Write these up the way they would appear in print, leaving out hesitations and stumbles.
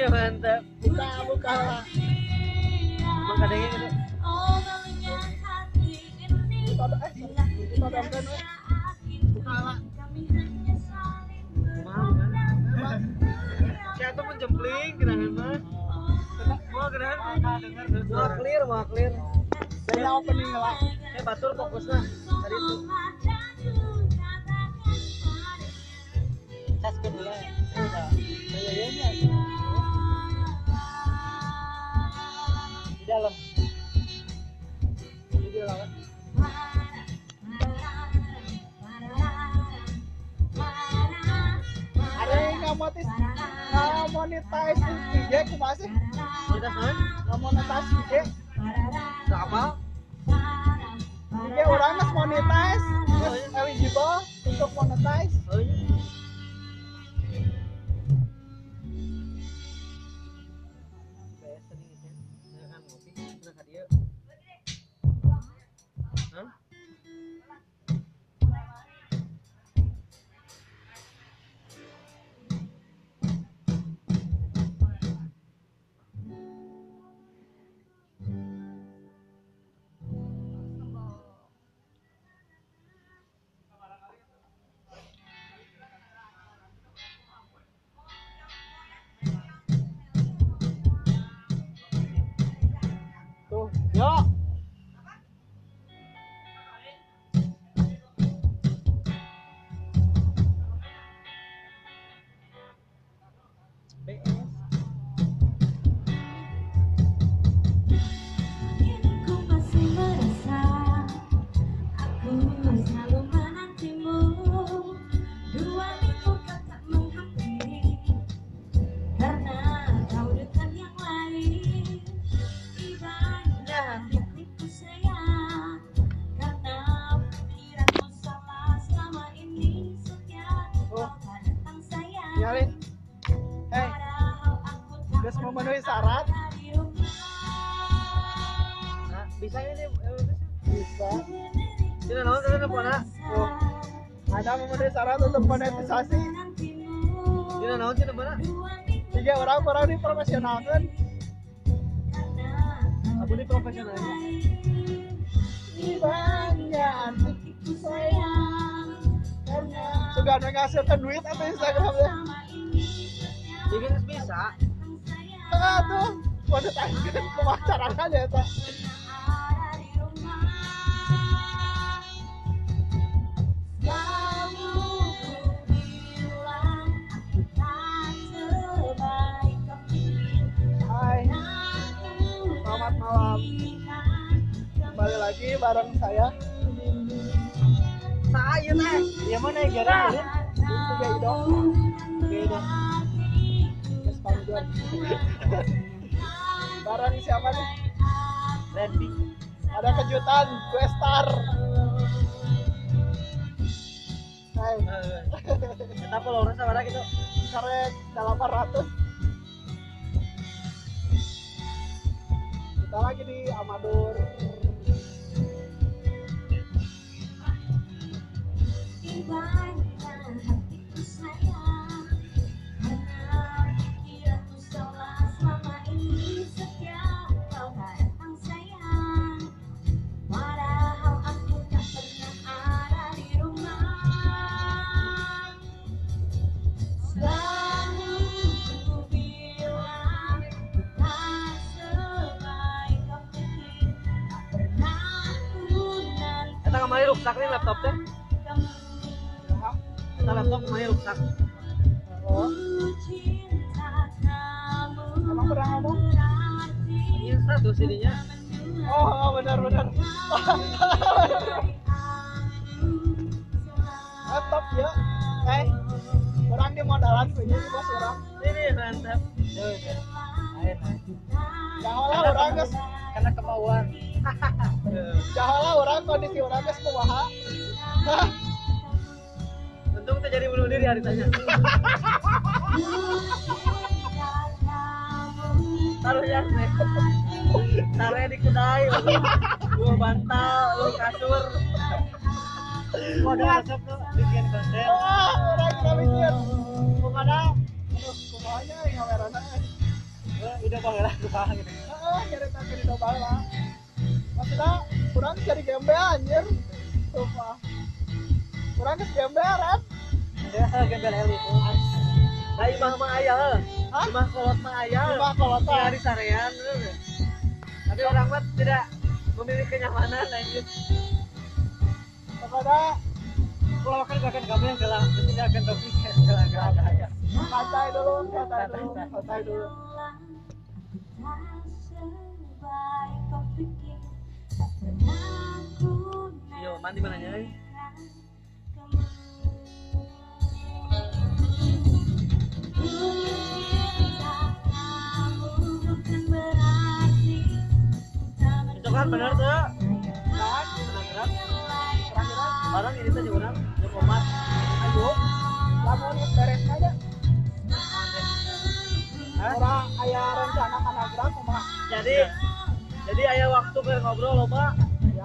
Iya mantap. Buka lah. Emang kadangnya gitu. Buka dompet. Buka lah. Saya tuh menjempling gerangan mah. Mau gerangan dengar suara. Mau clear. Saya opening lah. Batur fokusnya tadi itu. Taskin dulu ya. Udah. Kayaknya di dalam. Di dalam. Ada yang nggak monetize IG kumaha sih? Monetize mana? Nggak monetize IG. Berapa? IG orang nggak monetize, terus eligible untuk monetize. Oh iya. Tuh, yuk. Nyalin. Guys memenuhi syarat. Nah, bisa ini Bisa. tidak naon tadi teleponnya. Tuh. Ada memenuhi syarat untuk monetisasi. Tidak naon sih teleponnya. Tiga orang di profesional kan. Aku ini profesionalnya. Banyak hatiku sayang. Sudah ada ngasilkan duit atau Instagramnya? Jadi bisa. Tuh, monetize kan kemacaran aja itu. Hai, selamat malam. Kembali lagi bareng saya. Saya teh. Iya mana ya gara? Tiga idol. Beda. Yes, Panjor. Bareng siapa nih? Randy. Ada kejutan, gue star. Hai. Kenapa lo orang sama gitu? Karek 800. Kita lagi di Amadur. Kita kemarin rusak nih laptopnya. Kita laptop kemarin rusak. Oh. Emang pernah ngomong? Ini satu CD-nya. Oh, benar. Laptop ya. Orang di modalan punya di bos orang. Ini mantap. Air. Jangan lah orang guys. Karena kemauan. Jangan lah orang kondisi orang guys kumaha. Untung terjadi bunuh diri hari tanya. Taruhnya nih. Taruhnya di kedai. Dua bantal, dua kasur. Waduh, asap tuh bikin konten. Orang kita bikin. Kumana? Kumahanya yang kameranya. lah gitu. Nyari tapi di doa lah. Maksudnya kurang cari gembel anjir. Sumpah. Kurang ke gembel kan? Ya, gembel elit. Nah, imah mah aya. Hah? Imah kolot mah aya. Imah kolot mah. Di sarean. Tapi orang mah tidak memiliki kenyamanan lanjut. Kepada Kalau makan gak akan kamu yang gelang, tidak akan topik gelang ada. santai dulu. Yo, mandi mana nya? Cocokan bener tuh. Bener. Barang ini tuh orang, yang komat. Ayo, lamun beres aja. Orang aya rencana kana gerak kumaha? Jadi aya waktu ke ngobrol loba. Ya.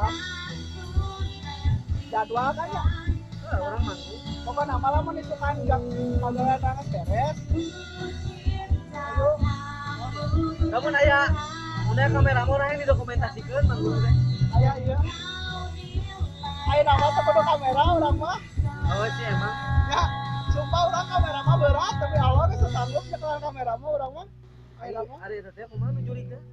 Jadwal kan ya. Orang manggung. Pokoknya malam itu kan enggak pagawean nangis beres. Ayo. Kamu aya kamera orang yang didokumentasikan manggung teh. Aya iya. Aya nama teu kamera urang mah. Oh, sih emang. Ya, sumpah urang kamera mah berat tapi Allah geus sanggup nyekelan kamera mah urang mah. Aya nama. Ari eta teh kumaha nu jurig teh?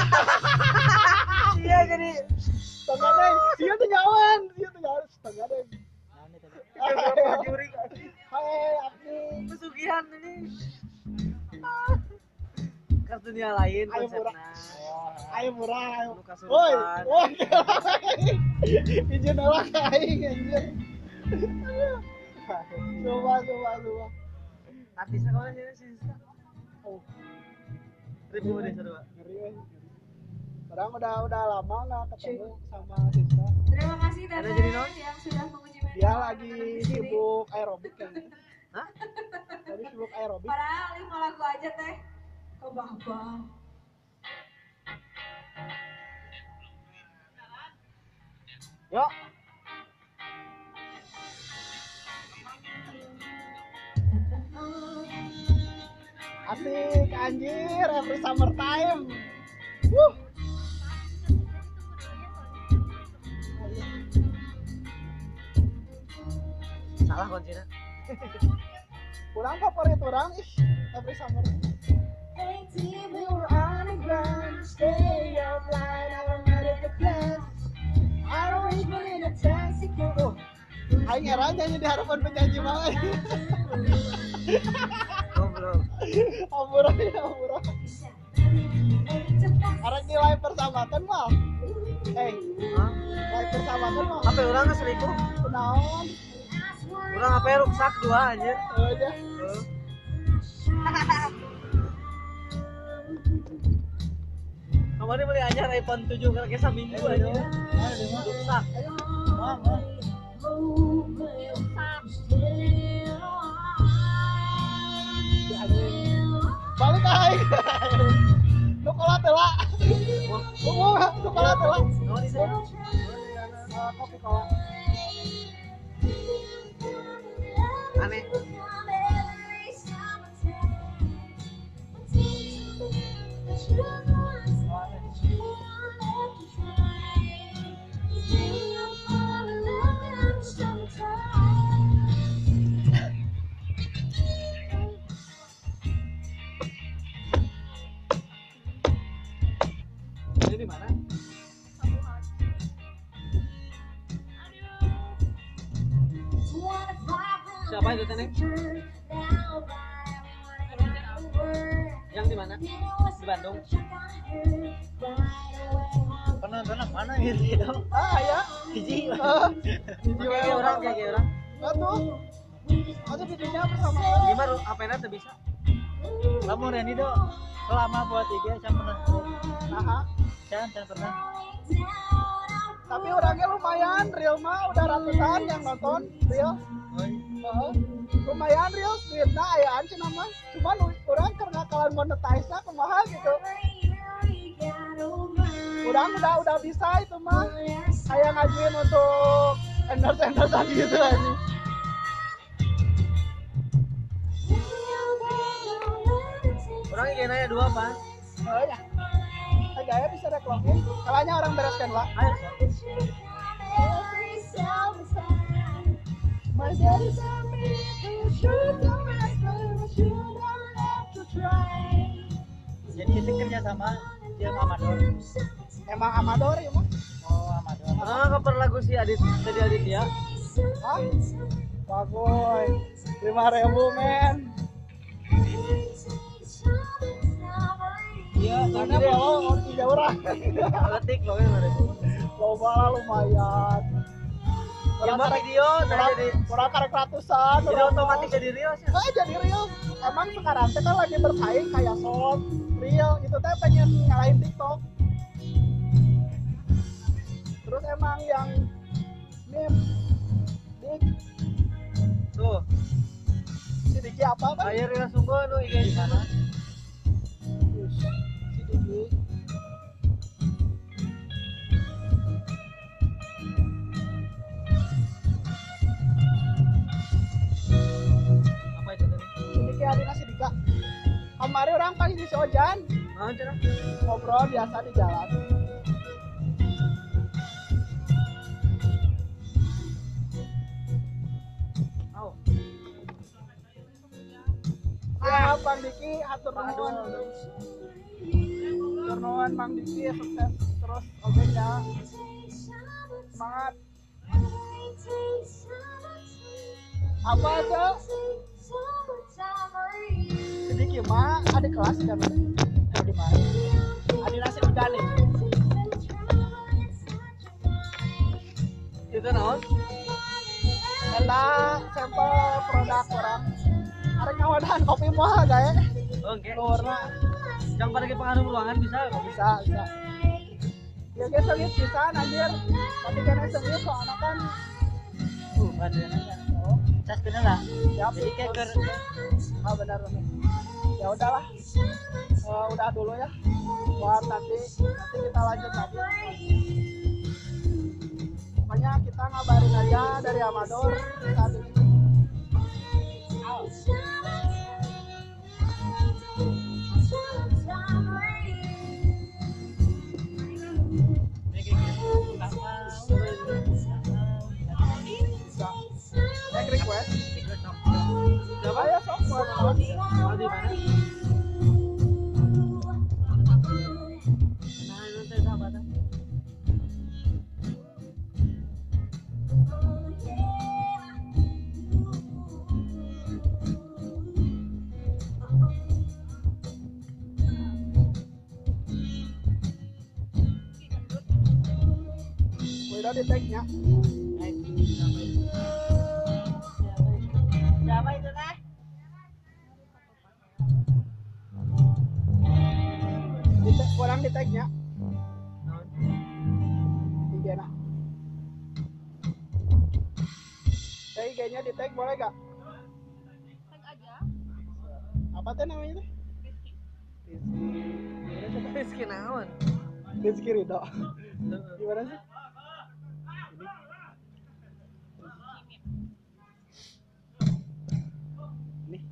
Iya jadi Setengah deh, dia tuh nyawan setengah deh. jurig. Hai, Abdi. Pesugihan ini. Kartunia lain Ayo murah. konsepna. Ayo murah, ayo. Nu kasurupan. Woi. Izin orang aing anjir. Coba. Artisnya kau sih Siska. Oh, Ribu deh seru. ngeri euy. Padahal udah lama nggak ketemu sama Siska. Terima kasih Ada Tete jadi non? yang sudah menguji media. Dia lagi sibuk aerobik kayaknya. Hah? Tadi sibuk aerobik. Padahal 5 lagu aja teh. Kebah-bah. Yuk. Asik anjir, every summer time. Wuh. Salah kuncinya. Kurang favorit orang every summer. We were on the ground, stay offline, I don't know the class. I don't even in a taxi. Oh, aing heran nyanyi di harapan penyanyi mah. Goblok. Ampura. Arek di live persahabatan mah. Hah? Live persahabatan mah. HP orang geus selingkuh. Kunaon? Orang HP rusak 2 anjir. Aja. Kemarin beli anyar iPhone 7 kira seminggu aja. Rusak. Balik aing. Nu kola tela. Nu kola tela. Oh, di sana. Kopi kola. Aneh. Ini di mana? Siapa itu Teneng? Yang di mana? Di Bandung. Penonton mana gitu? Ya. Hiji. Hiji Kayak orang. Atuh. Ada videonya bersama. Gimana HP-nya tuh bisa? Kamu Reni do selama buat IG saya pernah Nah, saya pernah tapi orangnya lumayan, real mah udah ratusan yang nonton, real. Lumayan real, streetnya ayaan cina mah. Cuman orang karena kalian monetize-nya kumaha gitu. Orang udah bisa itu mah. Kayak ngajuin untuk endorse-endorsean gitu aja. Orang IG-nya 2 apa? Oh ya. Gaya bisa reklamin. Kalanya orang bereskan lah. Ayo. My daddy told me you should don't rest, but you don't have to try. Jadi itu kerja sama dia Amador. Emang amador ya mah? Oh, Amador. Ah, cover lagu si Adit tadi Aditya. Hah? Bagoy, 5.000 men. Iya, Karena bawa 3 orang. ketik pokoknya mana. Loba lah lumayan. Yang mah video jadi Kurang karek ratusan. jadi otomatis jadi real sih. Jadi real. Emang sekarang teh kan lagi bersaing kayak short, real itu teh pengen ngalahin TikTok. Terus emang yang meme dik Tuh, si Diki apa kan? air real sungguh nu IG di mana? Si Diki. Apa itu tadi? Si Diki Adina si Dika. Kemarin orang pas di Sojan Mau cenah? ngobrol biasa di jalan. Au. Ya, Bang Diki, hatur nuhun. Hatur nuhun Bang Diki, sukses terus oke ya. Semangat. Apa aja? Sedikit mah ada kelas kan? Mau di mana? Ada nasi udah nih. Itu naon? Eta sampel produk orang. Ada ngawadan kopi mah gaya. Oke. Luarna Yang pada ke pengaruh ruangan bisa kok. bisa. Ya guys, sengit bisa anjir. Tapi kena sengit soalnya kan. Badan aja. Oh, Cas kenal lah. siap. Jadi kayak ke Ah benar. Ya udahlah. Udah dulu ya. Buat nanti kita lanjut lagi. Pokoknya kita ngabarin aja dari Amador saat ini. Next request. Siapa ya sok buat Mau di mana? Nah, nanti sahabatan. udah di tag-nya. Siapa itu teh? Kurang di tag-nya. IG-nya. IG-nya di tag boleh gak? Tag aja. Apa tuh namanya tuh? Rizky naon? Rizky Ridho. Gimana sih? Nih.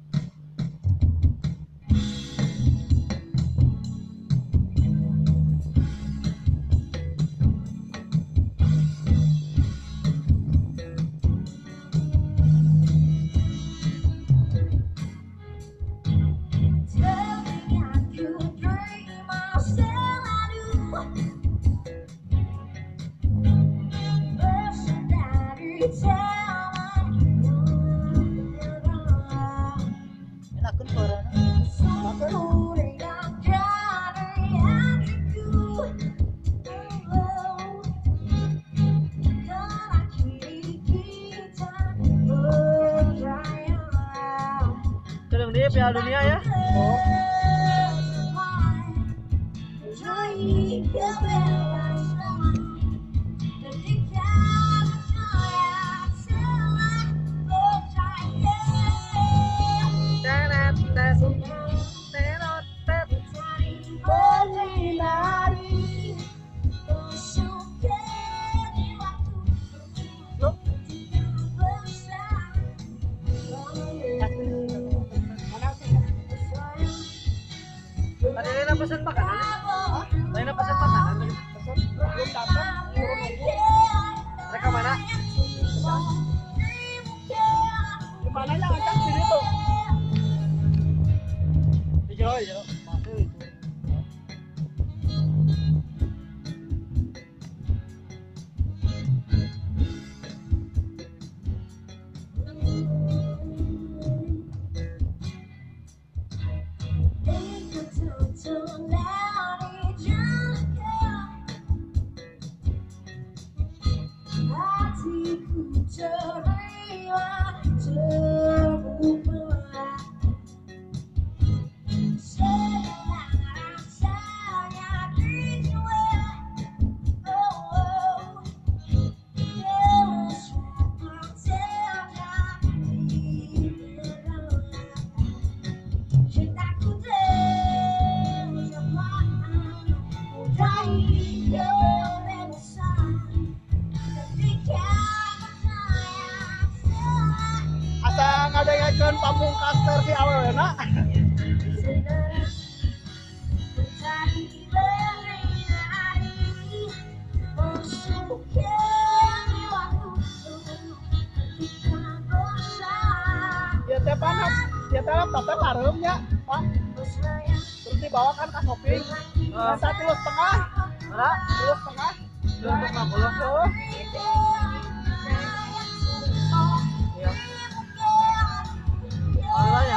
enak kan suaranya. Sedang di Piala Dunia ya? Ada yang pesan makanan? Lain pesan Mananya ngacak sini tuh. Di jero. Masuk itu. Asa ngadengekeun pamungkas versi awalna. Ya teh panas, ya teh laptop teh larem nya, Pak. Terus dibawakan ke shopping. Masa 3,5. Ora, 3,5. 250. Oh. Iya. Awalnya.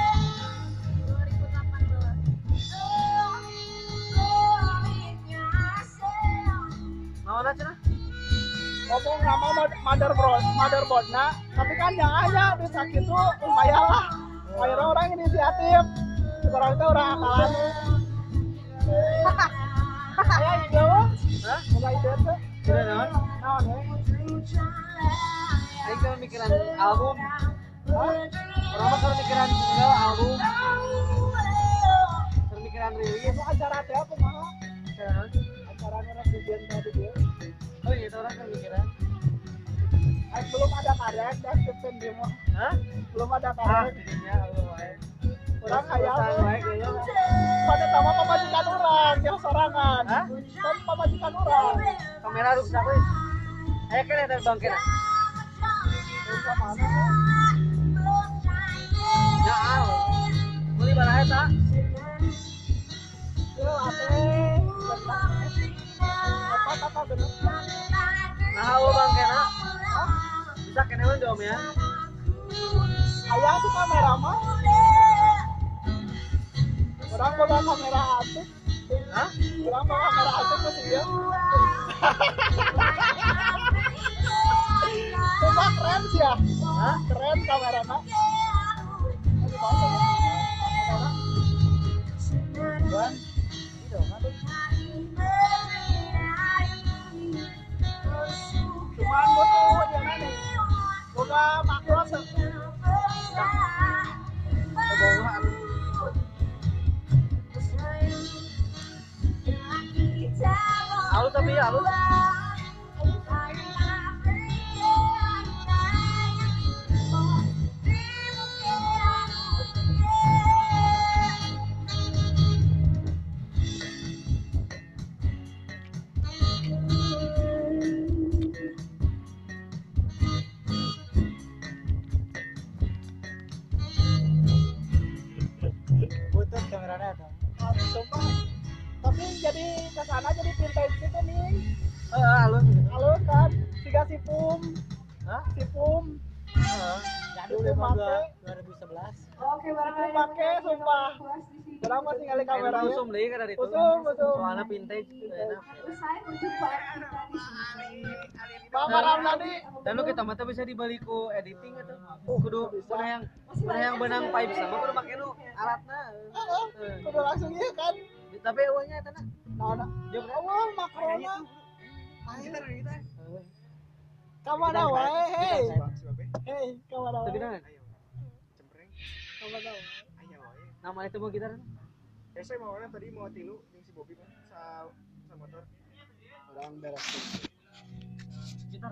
Mau ada cenah? Ngomong nama motherboardnya, tapi kan yang aja di sakit tuh lumayan lah. Akhirnya orang inisiatif, sekarang itu orang akalan. Saya ide wah, Hah? mulai ide tuh. Tidak naon? Naon ya? Aing kan mikiran album. Hah? Orang mah kan mikiran single album. Pemikiran rilis. Itu acara teh apa mah? Kan? Acaranya orang di band tadi dia. Oh iya, itu orang kan mikiran. Belum ada karek, dah Stephen dia mah. Hah? Belum ada Ah, karek. jadinya album wae. Orang kayak Perusahaan apa? wae kayaknya. Pada sama pemajikan orang, yang sorangan. Hah? Kan pemajikan orang. Kamera rusak weh. Ayo kan ada bangkit. Terus mana? Ya, beli barang eta. Yo, ate. Apa kata bener? Nah, hawa bangkena. Bisa kene we dom ya. Ayah sih kamera mah. Orang bawa kamera asik. Hah? Orang bawa kamera asik masih dia. Coba keren sih ya. Hah? Keren kamera mah. Buan. Itu kan. Cuman butuh yang mana? Boga makro Kebohongan. Halus tapi ya halus. Butut kameranya tuh. Sumpah. Tapi jadi kesana jadi vintage gitu nih. Halus gitu. Halo kan, tiga sipum, Hah? sipum, Jadi Dulu udah make. 2011. Oke, barangkali Pakai, sumpah. Orang masih ngali kameranya. Usum deui kan dari itu. Usum. Soalnya vintage enak. usai berjumpa kita di sini. Bang Maram tadi. Dan lu kita mata bisa dibalik ku editing atau kudu mana yang benang pipe sama kudu make nu alatna. Kudu langsung iya kan. Tapi eueuhnya eta na. Nah, Jom awal makrona. kita kita. Kamana wae, hei. Hei, kamana Tapi wae. nah, Kamana wae. nama itu mau gitar. Saya mau tadi mau tilu yang si Bobby sa motor. Orang beres.